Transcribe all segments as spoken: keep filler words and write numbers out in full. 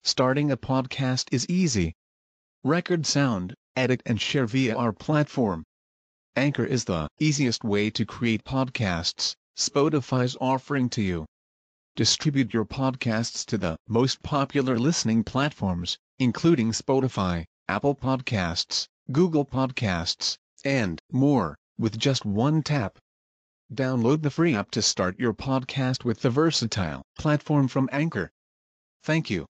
Starting a podcast is easy. Record sound, edit and share via our platform. Anchor is the easiest way to create podcasts Spotify's offering to you. Distribute your podcasts to the most popular listening platforms, including Spotify, Apple Podcasts, Google Podcasts, and more, with just one tap. Download the free app to start your podcast with the versatile platform from Anchor. Thank you.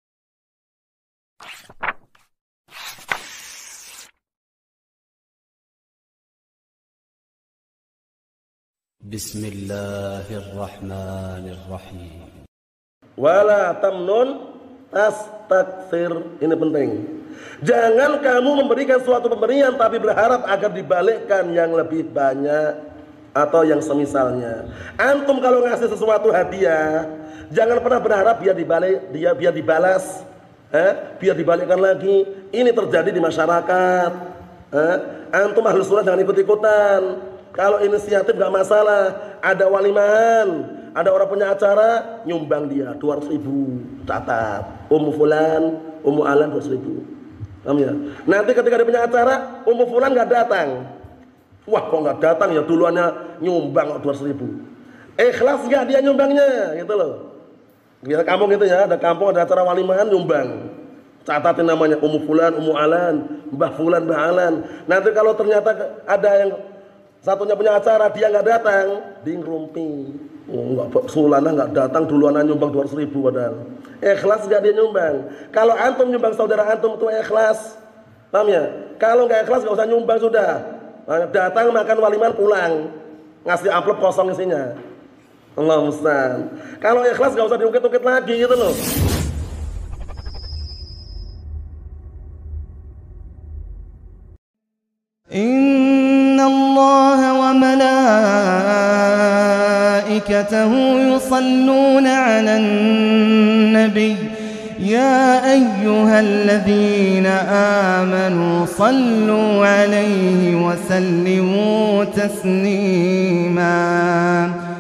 Bismillahirrahmanirrahim. Wala tamnun tastakthir. Ini penting. Jangan kamu memberikan suatu pemberian tapi berharap agar dibalikkan yang lebih banyak atau yang semisalnya. Antum kalau ngasih sesuatu hadiah, jangan pernah berharap biar dibalik, dia biar dibalas, eh, biar dibalikkan lagi. Ini terjadi di masyarakat. Eh, antum ahlus sunnah jangan ikut-ikutan. Kalau inisiatif gak masalah, ada walimahan, ada orang punya acara, nyumbang dia dua ratus ribu, catat, Ummu Fulan, Ummu Alan dua ratus ribu. Paham ya? Nanti ketika dia punya acara, Ummu Fulan gak datang. Wah kok gak datang ya, duluannya nyumbang dua ratus ribu. Ikhlas gak dia nyumbangnya, gitu loh. Biar kampung gitu ya, ada kampung, ada acara walimahan, nyumbang. Catatin namanya, Ummu Fulan, Ummu Alan, Mbah Fulan, Mbah Alan. Nanti kalau ternyata ada yang satunya punya acara, dia nggak datang, di ngerumpi. Oh, nggak, Sulana nggak datang, duluan nyumbang dua ratus ribu padahal. Ikhlas nggak dia nyumbang. Kalau antum nyumbang saudara antum itu ikhlas, paham ya? Kalau nggak ikhlas nggak usah nyumbang sudah. Datang makan waliman pulang, ngasih amplop kosong isinya. Allah musta'an. Kalau ikhlas nggak usah diungkit-ungkit lagi gitu loh. Inna Allah wa malaikatahu yusalluna 'alan nabiy ya ayyuhalladzina amanu sallu 'alaihi wa sallimu taslima.